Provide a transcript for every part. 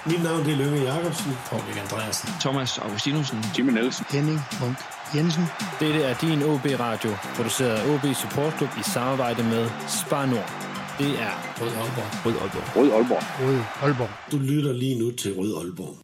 Mit navn er Løve Jacobsen. Paul Andreasen. Thomas Augustinusen. Jimmy Nielsen. Henning Munk Jensen. Dette er din OB Radio, produceret af OB Support Club i samarbejde med Spar Nord. Det er Rød Aalborg. Rød Aalborg. Rød Aalborg. Du lytter lige nu til Rød Aalborg.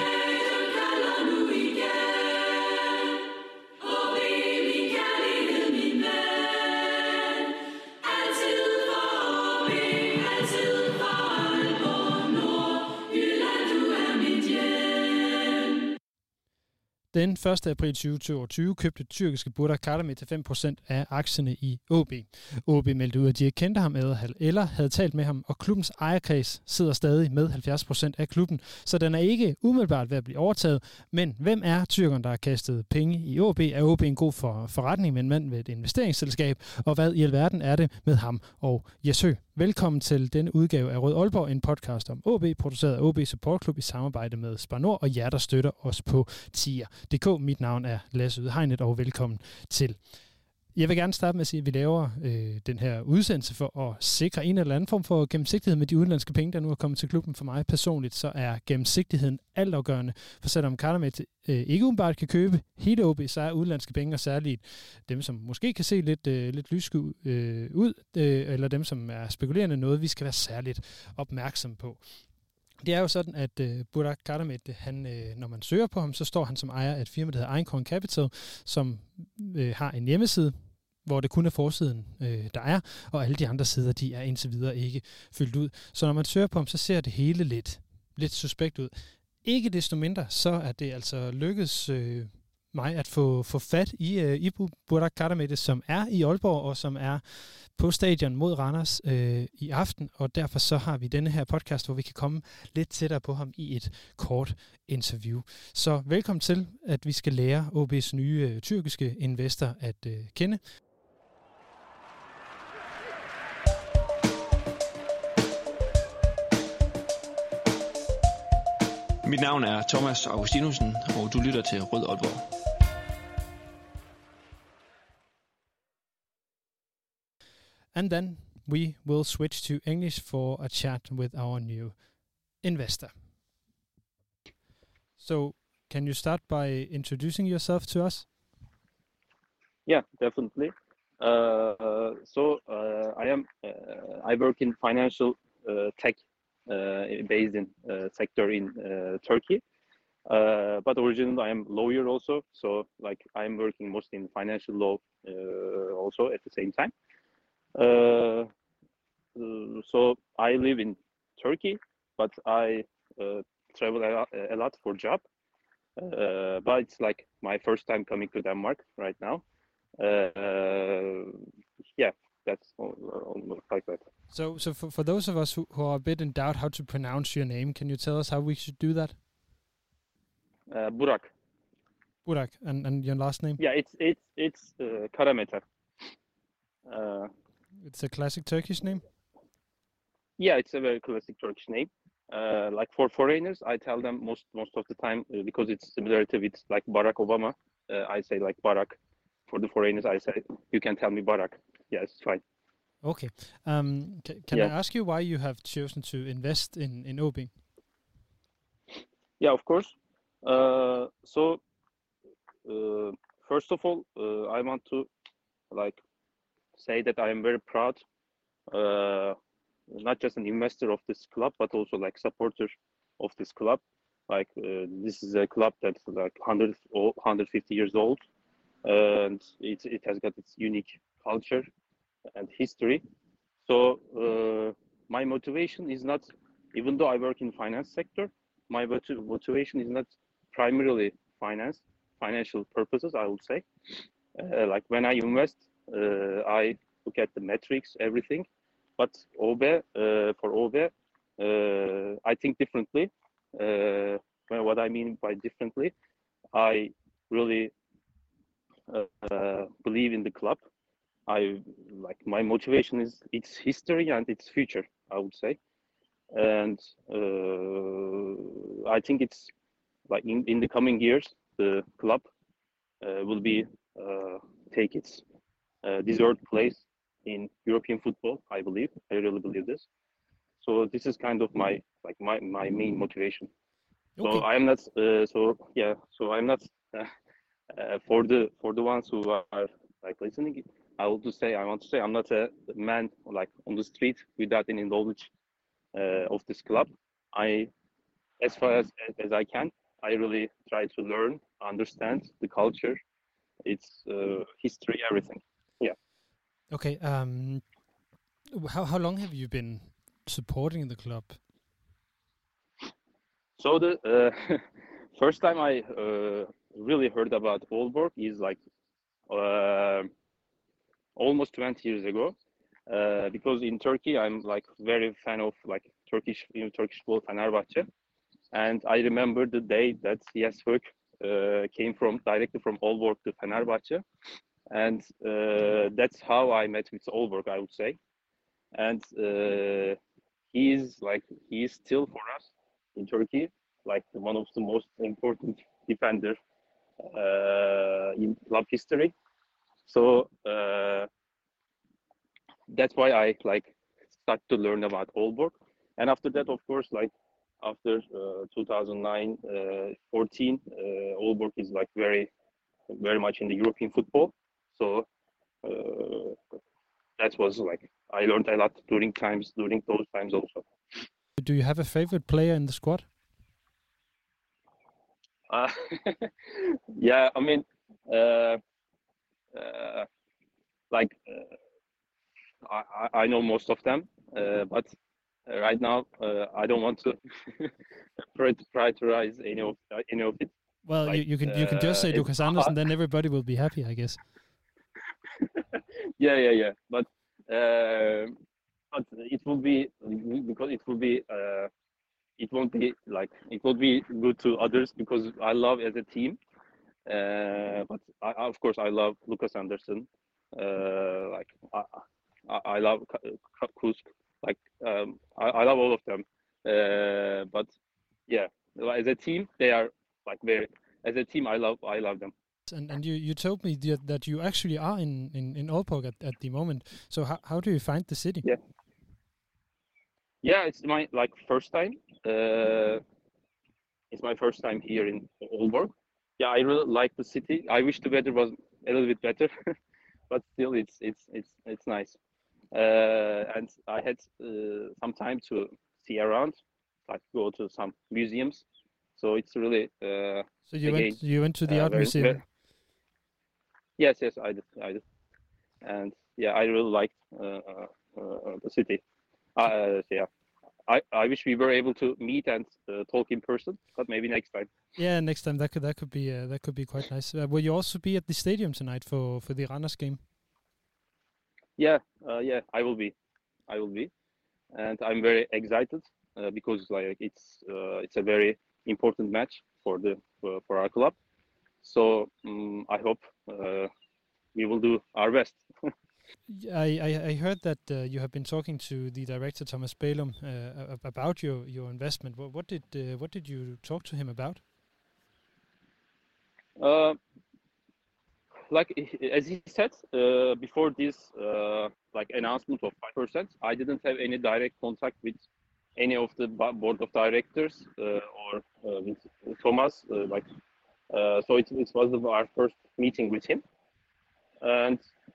Den 1. april 2022 købte tyrkiske Burak Karamet til 5% af aktierne i OB. OB meldte ud, at de ikke kendte ham eller havde talt med ham, og klubbens ejerkreds sidder stadig med 70% af klubben, så den er ikke umiddelbart ved at blive overtaget. Men hvem er tyrkeren, der har kastet penge i OB? Er OB en god forretning med en mand ved et investeringsselskab? Og hvad i alverden er det med ham og Jesø? Velkommen til denne udgave af Rød Aalborg, en podcast om OB, produceret af OB Support Club i samarbejde med Spar Nord og jer, der støtter os på tier.dk. Mit navn er Lasse Udhegnet, og velkommen til. Jeg vil gerne starte med at sige, at vi laver den her udsendelse for at sikre en eller anden form for gennemsigtighed med de udenlandske penge, der nu er kommet til klubben. For mig personligt, så er gennemsigtigheden altafgørende. For selvom Karamet ikke umiddelbart kan købe hele OB, så er udenlandske penge, og særligt dem, som måske kan se lidt lyske ud, eller dem, som er spekulerende, noget vi skal være særligt opmærksom på. Det er jo sådan, at Burak Karamet, når man søger på ham, så står han som ejer af et firma, der hedder Einkorn Capital, som har en hjemmeside, hvor det kun er forsiden, der er, og alle de andre sider, de er indtil videre ikke fyldt ud. Så når man søger på ham, så ser det hele lidt suspekt ud. Ikke desto mindre, så er det altså lykkedes mig at få fat i Burak Karamet, som er i Aalborg, og som er på stadion mod Randers i aften, og derfor så har vi denne her podcast, hvor vi kan komme lidt tættere på ham i et kort interview. Så velkommen til, at vi skal lære OB's nye tyrkiske investor at kende. Mit navn er Thomas Augustinusen, og du lytter til Rød Aalborg. And then we will switch to English for a chat with our new investor. So, can you start by introducing yourself to us? Yeah, definitely. I work in financial tech based in sector in Turkey. But originally I am lawyer also, so like I'm working mostly in financial law also at the same time. So I live in Turkey, but I travel a lot for job. But it's like my first time coming to Denmark right now. Yeah, that's almost like that. So for those of us who are a bit in doubt how to pronounce your name, can you tell us how we should do that? Burak. Burak, and your last name? Yeah, it's Karameter. It's a classic Turkish name? Yeah, it's a very classic Turkish name. Like for foreigners, I tell them most of the time because it's similar to it's like Barack Obama. I say like Barack. For the foreigners, I say you can tell me Barack. Yeah, it's fine. Okay. Can I ask you why you have chosen to invest in OB? Yeah, of course. First of all, I want to like say that I am very proud, not just an investor of this club, but also like supporter of this club. Like this is a club that's like 150 years old, and it has got its unique culture and history. So my motivation is not, even though I work in finance sector, my motivation is not primarily financial purposes, I would say. Like when I invest, I look at the metrics, everything. But for OB, I think differently. What I mean by differently, I really believe in the club. My motivation is its history and its future, I would say. And I think it's like in the coming years, the club will be take its deserved place in European football. I really believe this. So this is kind of my main motivation. So Okay. I'm not so I'm not for the ones who are like listening. I want to say I'm not a man like on the street without any knowledge of this club. I as far as I can, I really try to learn, understand the culture, its history, everything. Yeah. Okay. How long have you been supporting the club? So the first time I really heard about Aalborg is like almost 20 years ago, because in Turkey I'm like very fan of like Turkish football, Fenerbahçe, and I remember the day that Yesvik came directly from Aalborg to Fenerbahçe, and that's how I met with Aalborg, I would say, and he is still for us in Turkey like one of the most important defender in club history. So that's why I like start to learn about Aalborg, and after that, of course, like after 2009, 14, Aalborg is like very much in the European football. So that was like I learned a lot during those times also. Do you have a favorite player in the squad? Yeah, I mean, like I know most of them, but right now I don't want to prioritize any of it. Well, Like, you can just say Lucas Andersen, then everybody will be happy, I guess. Yeah. But it will be because it will be it won't be like it will be good to others because I love as a team. But of course I love Lucas Andersen. Like I love Kusk. Like I love all of them. But yeah, as a team they are like very. As a team I love them. And you told me that you actually are in Aalborg at the moment. So how do you find the city? Yeah, it's my like first time. It's my first time here in Aalborg. Yeah, I really like the city. I wish the weather was a little bit better, but still, it's nice. And I had some time to see around, like go to some museums. So it's really. So you went to the art museum. Yes, I did, and yeah, I really liked the city. Yeah. I wish we were able to meet and talk in person, but maybe next time. Yeah, next time that could be quite nice. Will you also be at the stadium tonight for the Randers game? Yeah, I will be, and I'm very excited because like it's a very important match for our club. So I hope we will do our best. I heard that you have been talking to the director Thomas Bælum about your investment. What did you talk to him about? Like as he said before this like announcement of 5%, I didn't have any direct contact with any of the board of directors or with Thomas. So it was our first meeting with him, and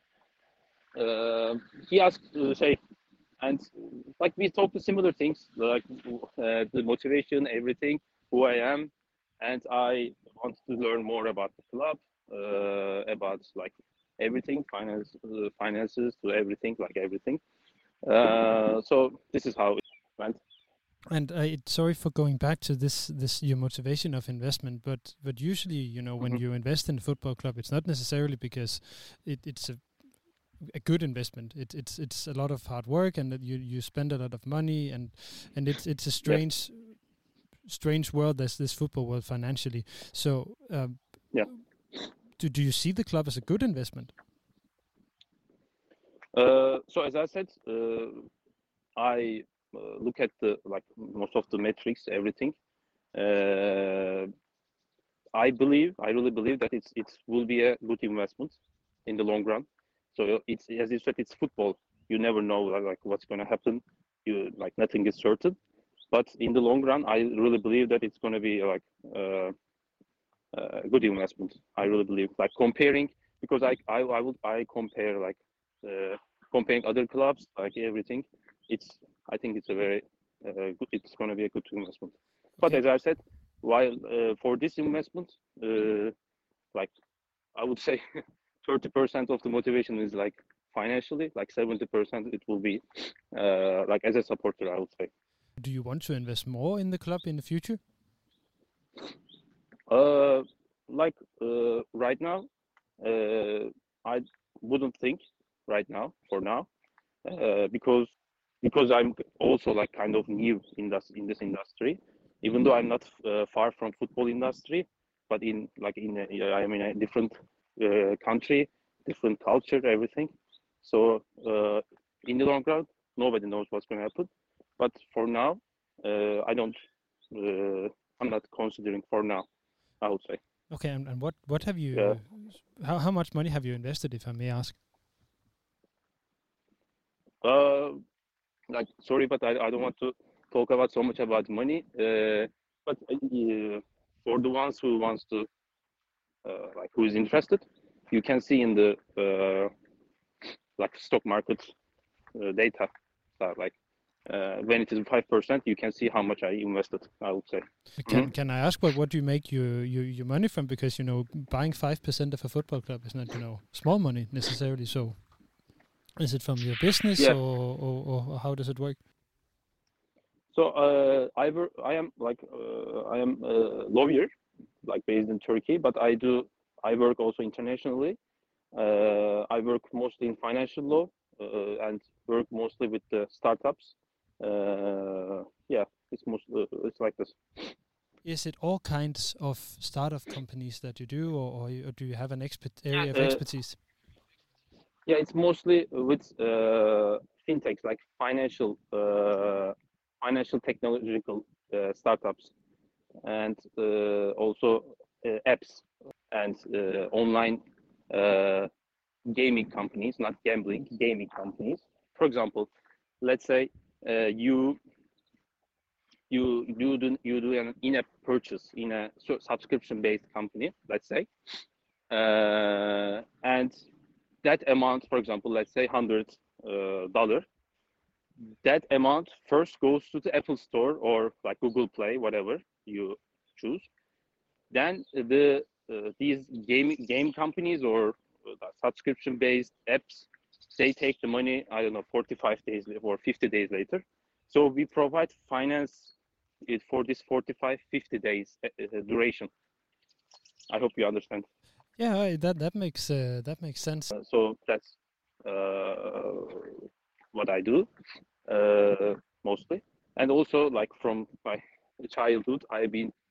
he asked and like we talked to similar things like the motivation, everything, who I am, and I wanted to learn more about the club, about like everything, finances to everything, like everything. So this is how it went. And sorry for going back to this your motivation of investment, but usually when you invest in a football club, it's not necessarily because it's a good investment. It's a lot of hard work, and that you spend a lot of money, and it's a strange world, this football world financially. So do you see the club as a good investment? So as I said, I look at the like most of the metrics, everything. I really believe that it will be a good investment in the long run. So it's, as you said, it's football. You never know like what's going to happen. nothing is certain. But in the long run, I really believe that it's going to be like a good investment. I really believe, like comparing, because I compare like comparing other clubs, like everything. I think it's a very good. It's going to be a good investment. But Okay. as I said, while for this investment, like I would say 30% of the motivation is like financially, like 70% it will be like as a supporter, I would say. Do you want to invest more in the club in the future? Right now, I wouldn't think right now for now, because I'm also like kind of new in this industry, even though I'm not far from football industry, but I'm in a different country, different culture, everything. So in the long run, nobody knows what's going to happen. But for now, I'm not considering for now, I would say. Okay, and what have you? Yeah. How much money have you invested, if I may ask? Sorry, but I don't want to talk about so much about money. But for the ones who wants to, who is interested, you can see in the stock market data. So when it is 5%, you can see how much I invested, I would say. Can I ask what do you make your money from? Because buying 5% of a football club is not small money necessarily. So is it from your business, Yeah. or how does it work? So I am a lawyer, like based in Turkey, but I work also internationally. I work mostly in financial law and work mostly with the startups. It's like this. Is it all kinds of startup companies that you do, or do you have an area of expertise? Yeah, it's mostly with fintechs, like financial technological startups, and also apps and online gaming companies, not gambling, gaming companies. For example, let's say you do an in-app purchase in a subscription-based company, let's say, and that amount, for example, let's say $100, that amount first goes to the Apple Store or like Google Play, whatever you choose. Then these game companies or subscription-based apps, they take the money, I don't know, 45 days or 50 days later. So we provide finance it for this 45, 50 days duration. I hope you understand. Yeah, that makes sense. So that's what I do mostly, and also like from my childhood, I've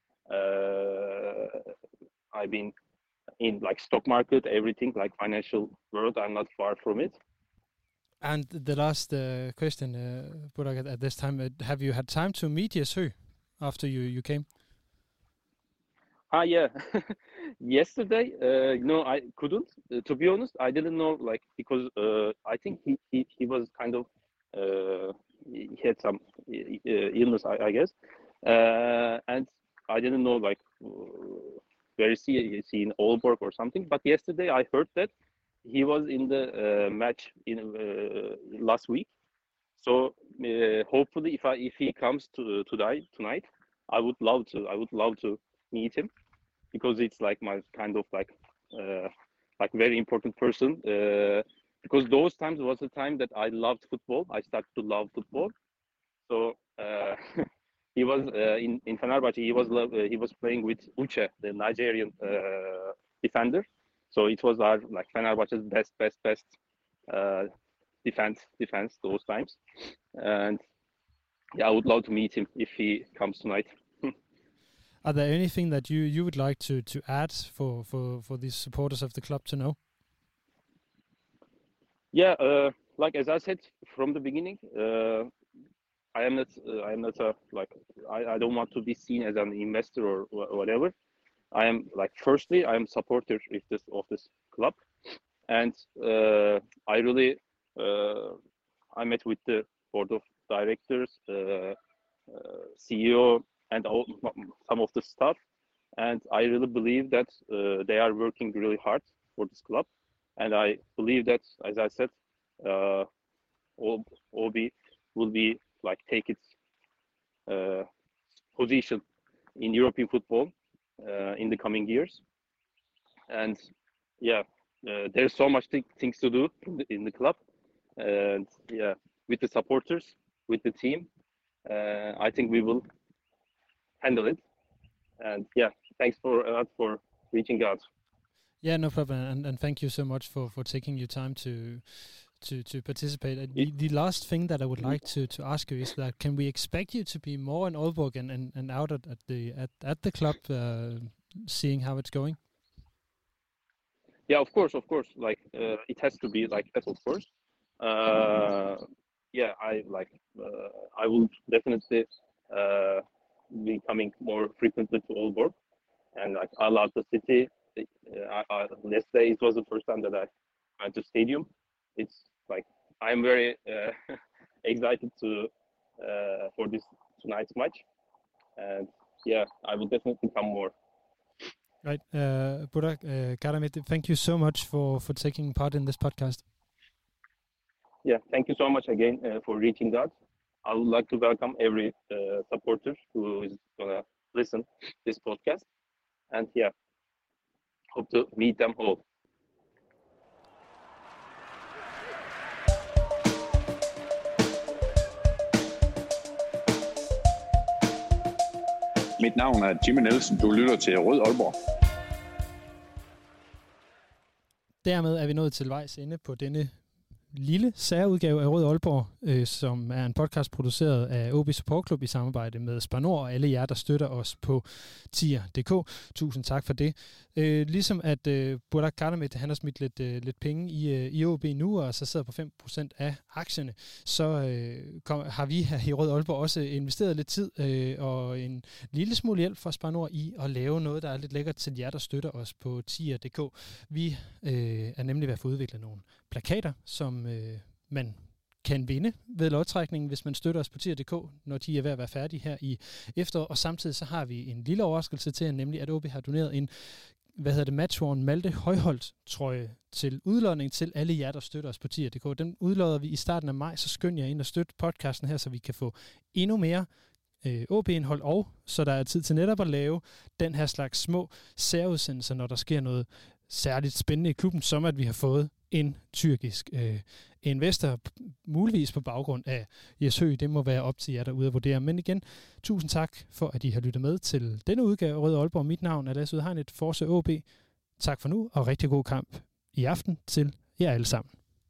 been in like stock market, everything like financial world. I'm not far from it. And the last question, Burak, at this time, have you had time to meet Jesø after you came? Yeah. Yesterday, no, I couldn't. To be honest, I didn't know, like, because I think he was kind of he had some illness, I guess, and I didn't know like where is he in Aalborg or something. But yesterday I heard that he was in the match in last week. So hopefully, if he comes tonight, I would love to meet him, because it's like my kind of like very important person. Because those times was the time that I loved football. I started to love football. So he was in Fenerbahçe. He was playing with Uche, the Nigerian defender. So it was our like Fenerbahçe's best defense those times. And yeah, I would love to meet him if he comes tonight. Are there anything that you would like to add for these supporters of the club to know? Yeah, like as I said from the beginning, I am not a like I don't want to be seen as an investor or whatever. I am like, firstly, I am supporter of this club, and I really I met with the board of directors, CEO, and some of the staff. And I really believe that they are working really hard for this club. And I believe that, as I said, OB will be take its position in European football in the coming years. And there's so much things to do in the club. And with the supporters, with the team, I think we will handle it. And thanks for reaching out. Yeah, no problem, and thank you so much for taking your time to participate. The last thing that I would like to ask you is that can we expect you to be more in Aalborg and out at the club, seeing how it's going? Yeah, of course. It has to be like that, of course. I will definitely be coming more frequently to Aalborg, and I love the city. Let's say it was the first time that I went to stadium. It's I'm very excited for this tonight's match, and I will definitely come more. Right, Burak Karamet, thank you so much for taking part in this podcast. Yeah, thank you so much again for reaching out. I would like to welcome every supporter who is gonna listen this podcast, and hope to meet them all. Mit navn er Jimmy Nielsen. Du lytter til Rød Aalborg. Dermed er vi nået til vejs ende på denne lille særudgave af Rød Aalborg, som er en podcast produceret af OB Support Club i samarbejde med Spar Nord og alle jer, der støtter os på tier.dk. Tusind tak for det. Ligesom at Burak Karamet, han har smidt lidt penge i OB nu, og så sidder på 5% af aktierne, så har vi her i Rød Aalborg også investeret lidt tid og en lille smule hjælp fra Spar Nord i at lave noget, der er lidt lækkert til jer, der støtter os på tier.dk. Vi er nemlig ved at få udviklet nogle plakater, som man kan vinde ved lodtrækningen, hvis man støtter os på tier.dk, når de er ved at være færdige her i efteråret. Og samtidig så har vi en lille overraskelse til, nemlig at OB har doneret en matchworn Malte Højholt trøje til udlodning til alle jer, der støtter os på tier.dk. Den udlodder vi i starten af maj, så skynd jer ind og støt podcasten her, så vi kan få endnu mere OB-indhold, og så der er tid til netop at lave den her slags små særudsendelser, når der sker noget særligt spændende i klubben, som at vi har fået en tyrkisk investor, muligvis på baggrund af Jes Høgh. Det må være op til jer derude at vurdere. Men igen, tusind tak for, at I har lyttet med til denne udgave af Rød Aalborg. Mit navn er Lasse Udhegnet, Force OB. Tak for nu, og rigtig god kamp i aften til jer alle sammen.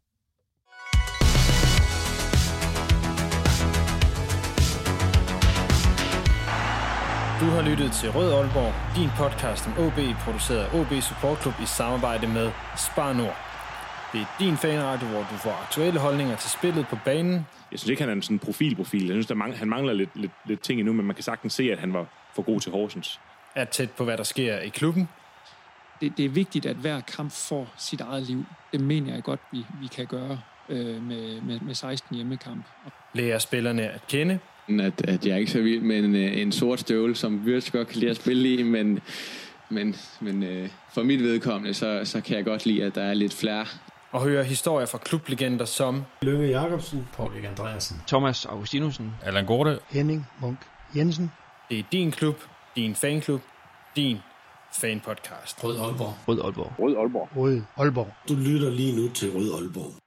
Du har lyttet til Rød Aalborg, din podcast om OB, produceret af OB Support Club i samarbejde med Spar Nord. Det er din fanradio, hvor du får aktuelle holdninger til spillet på banen. Jeg synes ikke, han er en sådan profil. Jeg synes, han mangler lidt ting endnu, men man kan sagtens se, at han var for god til Horsens. Er tæt på, hvad der sker i klubben. Det er vigtigt, at hver kamp får sit eget liv. Det mener jeg godt, vi kan gøre med 16 hjemmekamp. Lærer spillerne at kende. At jeg er ikke så vild med en sort støvle, som Wirtz godt kan lide at spille i, men for mit vedkommende, så kan jeg godt lide, at der er lidt flere. Og høre historier fra klublegender som Lønge Jacobsen, Paul Erik Andreasen, Thomas Augustinussen, Allan Gorte, Henning Munk Jensen. Det er din klub, din fanklub, din fanpodcast. Rød Aalborg. Rød Aalborg. Rød Aalborg. Rød Aalborg. Du lytter lige nu til Rød Aalborg.